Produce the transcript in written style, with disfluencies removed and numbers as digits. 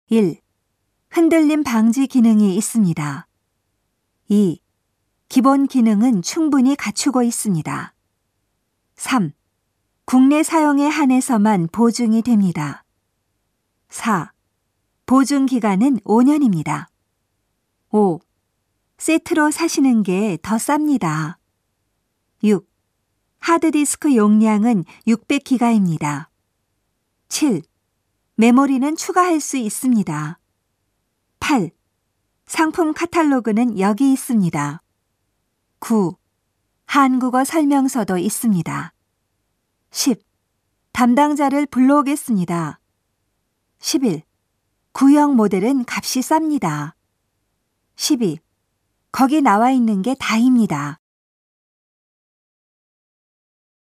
1. 흔들림 방지 기능이 있습니다. 2. 기본 기능은 충분히 갖추고 있습니다. 3. 국내 사용에 한해서만 보증이 됩니다. 4. 보증 기간은 5년입니다. 5. 세트로 사시는 게 더 쌉니다. 6. 하드디스크 용량은 600기가입니다. 7. 메모리는 추가할 수 있습니다. 8. 상품 카탈로그는 여기 있습니다. 9. 한국어 설명서도 있습니다. 10. 담당자를 불러오겠습니다. 11. 구형 모델은 값이 쌉니다. 12. 거기 나와 있는 게 다입니다.